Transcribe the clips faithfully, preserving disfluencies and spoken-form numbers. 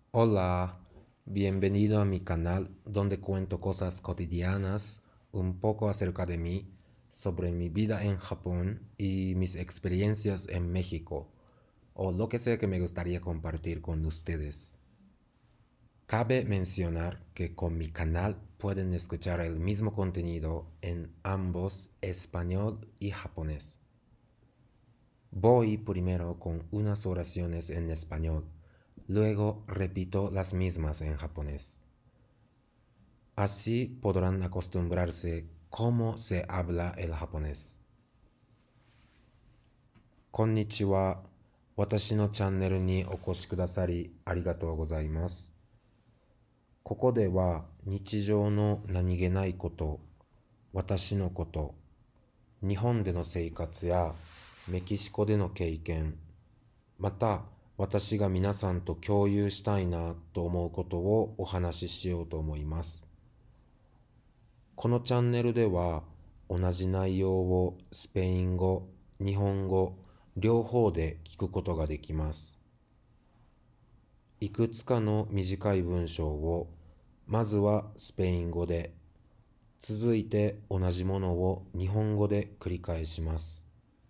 Hola, bienvenido a mi canal donde cuento cosas cotidianas, un poco acerca de mí, sobre mi vida en Japón y mis experiencias en México, o lo que sea que me gustaría compartir con ustedes. Cabe mencionar que con mi canal pueden escuchar el mismo contenido en ambos español y japonés. Voy primero con unas oraciones en español, luego repito las mismas en japonés. Así podrán acostumbrarse cómo se habla el japonés. こんにちは。私のチャンネルにお越しくださりありがとうございます。ここでは日常の何気ないこと、私のこと、日本での生活やメキシコでの経験、また私が皆さんと共有したいなと思うことをお話ししようと思います。このチャンネルでは同じ内容をスペイン語、日本語、両方で聞くことができます。いくつかの短い文章をまずはスペイン語で、続いて同じものを日本語で繰り返します。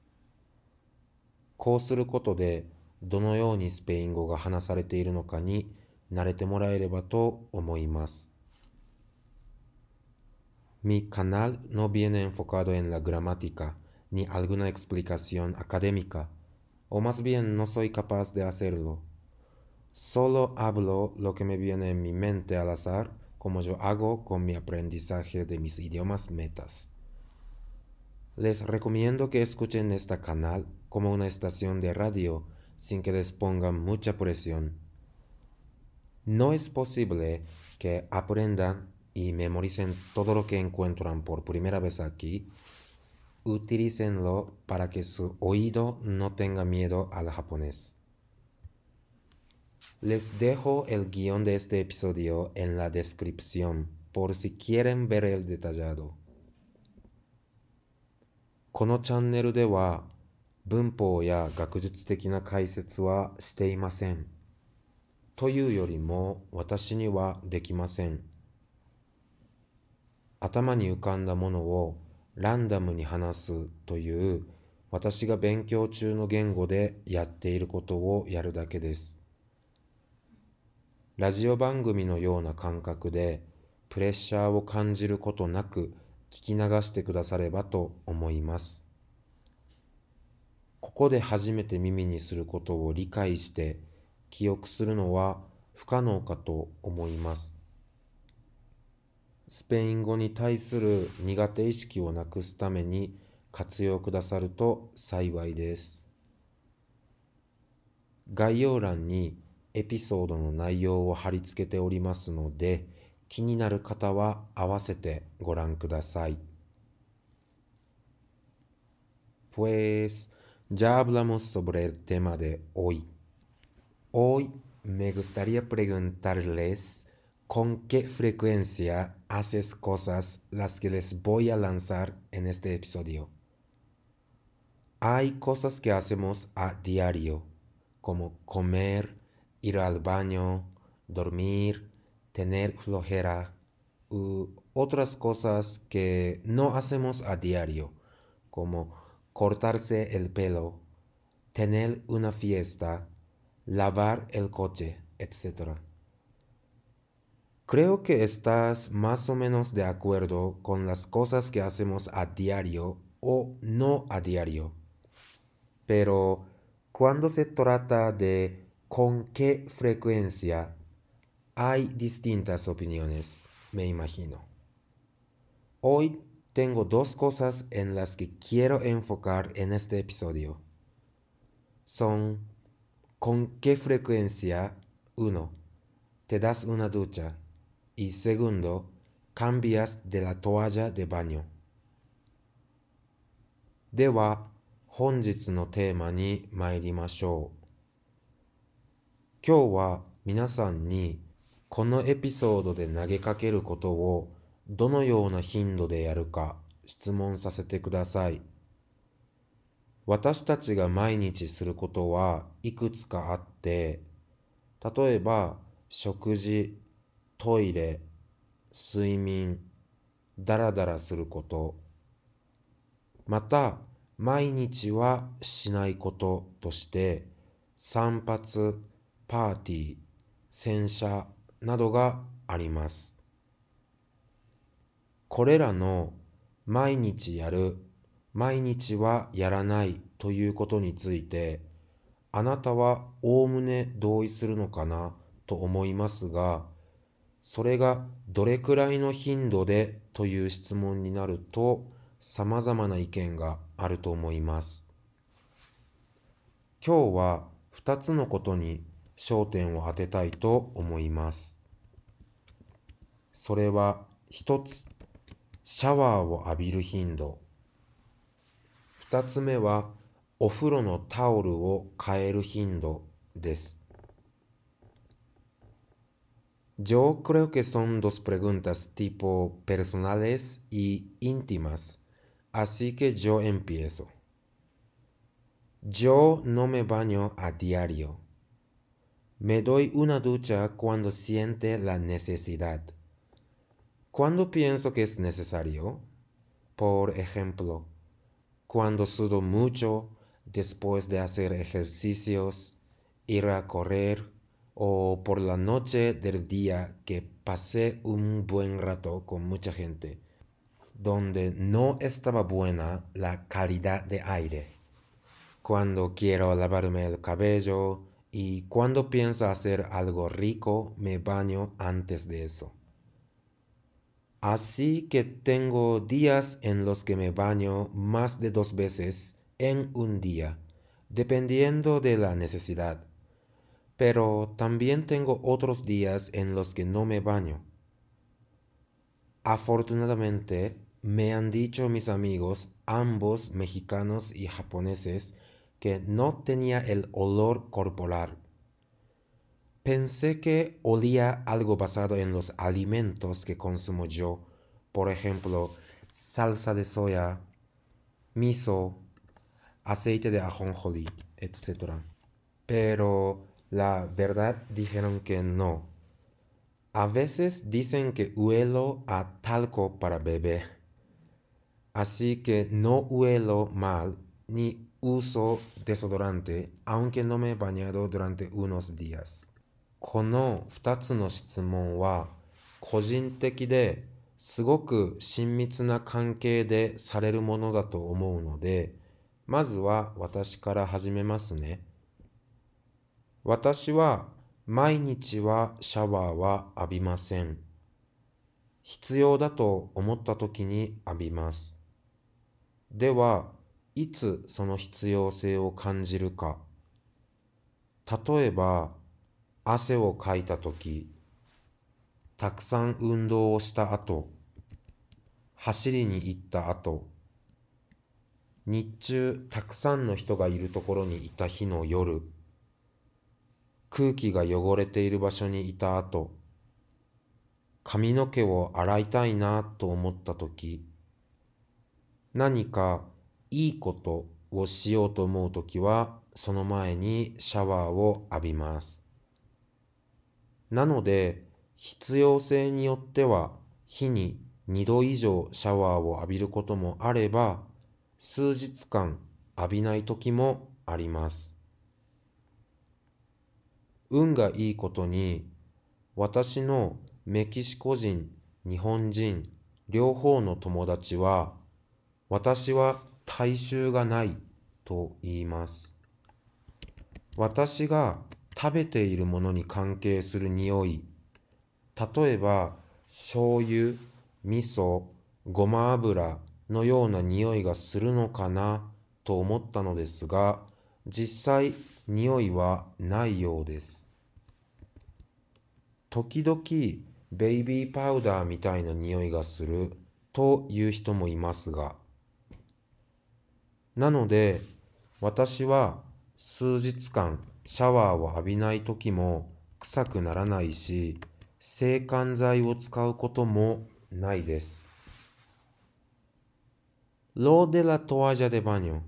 こうすることでどのようにスペイン語が話されているのかに慣れてもらえればと思います。Mi canal no viene enfocado en la gramática ni alguna explicación académica, o más bien no soy capaz de hacerlo. Solo hablo lo que me viene en mi mente al azar, como yo hago con mi aprendizaje de mis idiomas metas. Les recomiendo que escuchen este canal como una estación de radio sin que les pongan mucha presión. No es posible que aprendan y memoricen todo lo que encuentran por primera vez aquí. Utilícenlo para que su oído no tenga miedo al japonés. Les dejo el guión de este episodio en la descripción por si quieren ver el detallado. このチャンネルでは文法や学術的な解説はしていません。というよりも私にはできません。頭に浮かんだものをランダムに話すという私が勉強中の言語でやっていることをやるだけです。ラジオ番組のような感覚でプレッシャーを感じることなく聞き流してくださればと思います。ここで初めて耳にすることを理解して記憶するのは不可能かと思います。スペイン語に対する苦手意識をなくすために活用くださると幸いです。概要欄にエピソードの内容を貼り付けておりますので、気になる方は合わせてご覧ください。Pues ya hablamos sobre el tema de hoy. Hoy me gustaría preguntarles con qué frecuencia haces cosas las que les voy a lanzar en este episodio. Hay cosas que hacemos a diario, como comer, ir al baño, dormir, tener flojera, u otras cosas que no hacemos a diario, como cortarse el pelo, tener una fiesta, lavar el coche, etcétera. Creo que estás más o menos de acuerdo con las cosas que hacemos a diario o no a diario. Pero cuando se trata de con qué frecuencia, hay distintas opiniones, me imagino. Hoy tengo dos cosas en las que quiero enfocar en este episodio. Son con qué frecuencia, uno, te das una ducha y segundo, cambias de la toalla de baño. では、本日のテーマに参りましょう。今日は皆さんにこのエピソードで投げかけることをどのような頻度でやるか質問させてください。私たちが毎日することはいくつかあって、例えば食事、トイレ、睡眠、だらだらすること、また毎日はしないこととして散髪、パーティー、洗車などがあります。これらの毎日やる、毎日はやらないということについて、あなたはおおむね同意するのかなと思いますが、それがどれくらいの頻度でという質問になると、様々な意見があると思います。今日はふたつのことに焦点を当てたいと思います。それはひとつ、シャワーを浴びる頻度。ふたつめはお風呂のタオルを変える頻度です。Yo creo que son dos preguntas tipo personales y íntimas, así que yo empiezo. Yo no me baño a diario. Me doy una ducha cuando siente la necesidad. Cuando pienso que es necesario, por ejemplo, cuando sudo mucho después de hacer ejercicios, ir a correr, o por la noche del día que pasé un buen rato con mucha gente, donde no estaba buena la calidad de aire. Cuando quiero lavarme el cabello y cuando pienso hacer algo rico, me baño antes de eso. Así que tengo días en los que me baño más de dos veces en un día, dependiendo de la necesidad. Pero también tengo otros días en los que no me baño. Afortunadamente, me han dicho mis amigos, ambos mexicanos y japoneses, que no tenía el olor corporal. Pensé que olía algo basado en los alimentos que consumo yo, por ejemplo, salsa de soya, miso, aceite de ajonjolí, etcétera. Pero la verdad dijeron que no. A veces dicen que huelo a talco para bebé. Así que no huelo mal ni uso desodorante, aunque no me he bañado durante unos días. このふたつの質問は個人的ですごく親密な関係でされるものだと思うので、まずは私から始めますね。私は毎日はシャワーは浴びません。必要だと思った時に浴びます。では、いつその必要性を感じるか。例えば、汗をかいたとき、たくさん運動をした後、走りに行った後、日中たくさんの人がいるところにいた日の夜、空気が汚れている場所にいた後、髪の毛を洗いたいなと思ったとき、何かいいことをしようと思うときは、その前にシャワーを浴びます。なので、必要性によっては、日ににど以上シャワーを浴びることもあれば、数日間浴びない時もあります。運がいいことに、私のメキシコ人、日本人、両方の友達は、私は体臭がないと言います。私が食べているものに関係する匂い、例えば醤油、味噌、ごま油のような匂いがするのかなと思ったのですが、実際匂いはないようです。時々ベイビーパウダーみたいな匂いがするという人もいますが、なので私は数日間シャワーを浴びない時も臭くならないし、制汗剤を使うこともないです。Lo de la toalla de baño.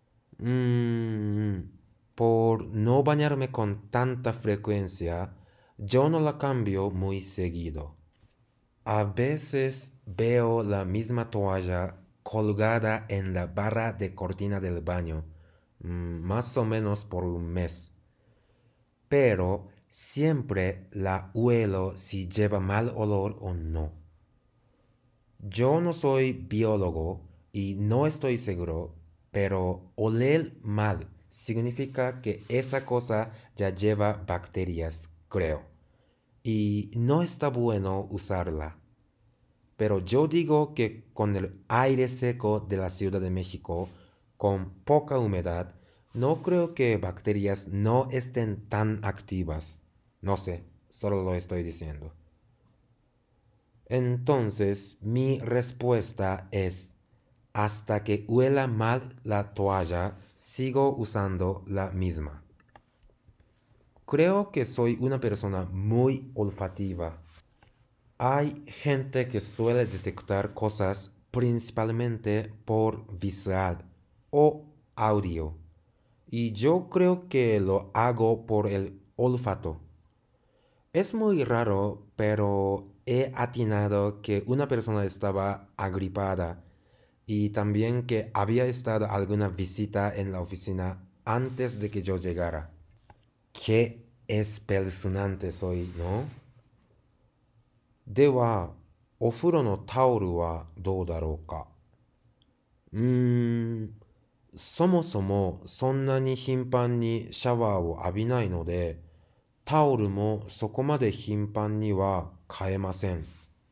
Mm, por no bañarme con tanta frecuencia, yo no la cambio muy seguido. A veces veo la misma toalla colgada en la barra de cortina del baño, mm, más o menos por un mes. Pero siempre la huelo si lleva mal olor o no. Yo no soy biólogo y no estoy seguro, pero oler mal significa que esa cosa ya lleva bacterias, creo. Y no está bueno usarla. Pero yo digo que con el aire seco de la Ciudad de México, con poca humedad, no creo que bacterias no estén tan activas. No sé, solo lo estoy diciendo. Entonces, mi respuesta es, hasta que huela mal la toalla, sigo usando la misma. Creo que soy una persona muy olfativa. Hay gente que suele detectar cosas principalmente por visual o audio, y yo creo que lo hago por el olfato. Es muy raro, pero he atinado que una persona estaba agripada y también que había estado alguna visita en la oficina antes de que yo llegara. Qué espeluznante soy, ¿no? では、お風呂のタオルはどうだろうか。うーん、そもそもそんなに頻繁にシャワーを浴びないので、タオルもそこまで頻繁には変えません。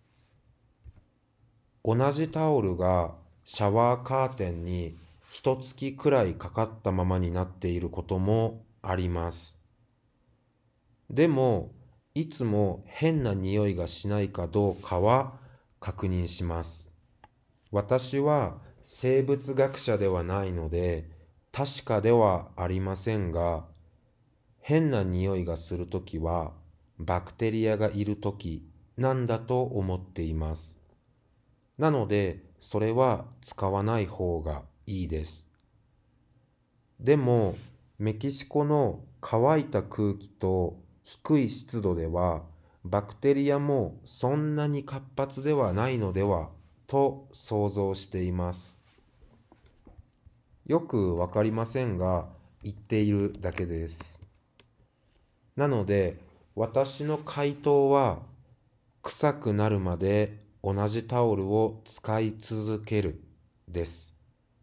同じタオルがシャワーカーテンに一月くらいかかったままになっていることもあります。でも、いつも変な匂いがしないかどうかは確認します。私は生物学者ではないので、確かではありませんが、変な匂いがするときは、バクテリアがいるときなんだと思っています。なので、それは使わない方がいいです。でも、メキシコの乾いた空気と低い湿度では、バクテリアもそんなに活発ではないのではと想像しています。よくわかりませんが、言っているだけです。なので、私の回答は、臭くなるまで同じタオルを使い続けるです。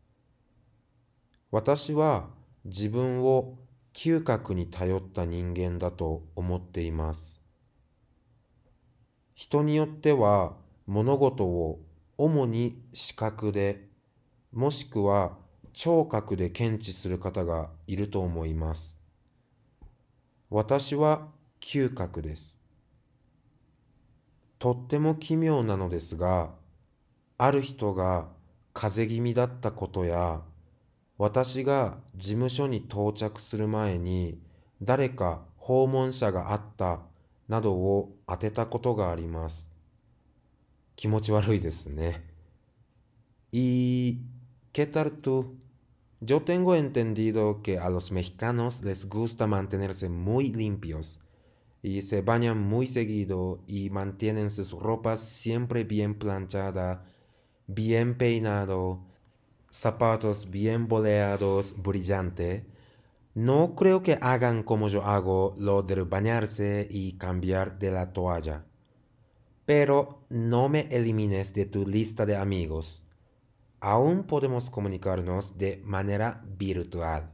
私は自分を嗅覚に頼った人間だと思っています。人によっては物事を主に視覚で、もしくは聴覚で検知する方がいると思います。私は嗅覚です。とっても奇妙なのですが、ある人が風邪気味だったことや、私が事務所に到着する前に誰か訪問者があったなどを当てたことがあります。気持ち悪いですね。¿Y qué tal tú? Yo tengo entendido que a los mexicanos les gusta mantenerse muy limpios y se bañan muy seguido y mantienen sus ropas siempre bien planchada, bien peinado, zapatos bien boleados, brillante. No creo que hagan como yo hago lo de bañarse y cambiar de la toalla. Pero no me elimines de tu lista de amigos. Aún podemos comunicarnos de manera virtual.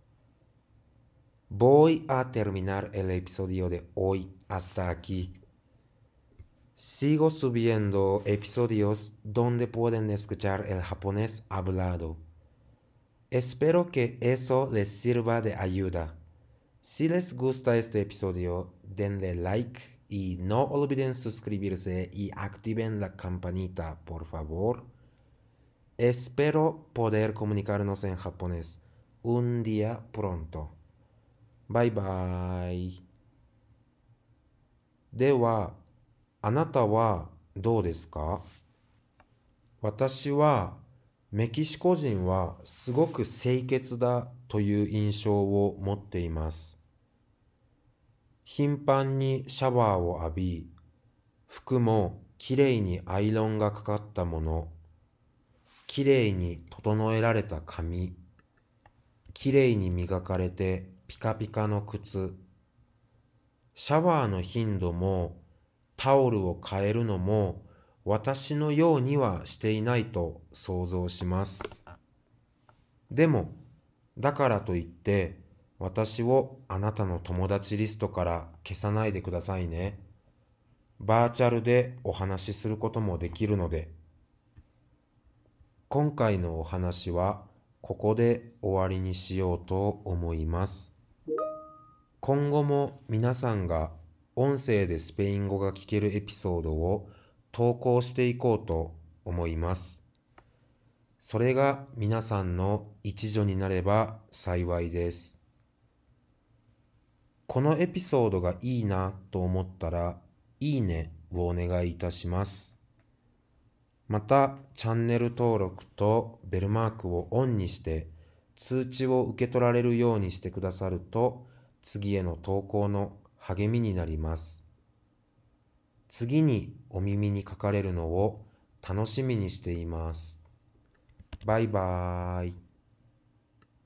Voy a terminar el episodio de hoy hasta aquí. Sigo subiendo episodios donde pueden escuchar el japonés hablado. Espero que eso les sirva de ayuda. Si les gusta este episodio, denle like y no olviden suscribirse y activen la campanita, por favor. Espero poder comunicarnos en japonés un día pronto. Bye bye. では、あなたはどうですか？私はメキシコ人はすごく清潔だという印象を持っています。 頻繁にシャワーを浴び、服もきれいにアイロンがかかったもの、きれいに整えられた髪、きれいに磨かれてピカピカの靴、シャワーの頻度もタオルを変えるのも私のようにはしていないと想像します。でも、だからといって私をあなたの友達リストから消さないでくださいね。バーチャルでお話しすることもできるので。今回のお話はここで終わりにしようと思います。今後も皆さんが音声でスペイン語が聞けるエピソードを投稿していこうと思います。それが皆さんの一助になれば幸いです。このエピソードがいいなと思ったら、いいねをお願いいたします。また、チャンネル登録とベルマークをオンにして通知を受け取られるようにしてくださると、次への投稿の励みになります。次にお耳にかかれるのを楽しみにしています。バイバーイ。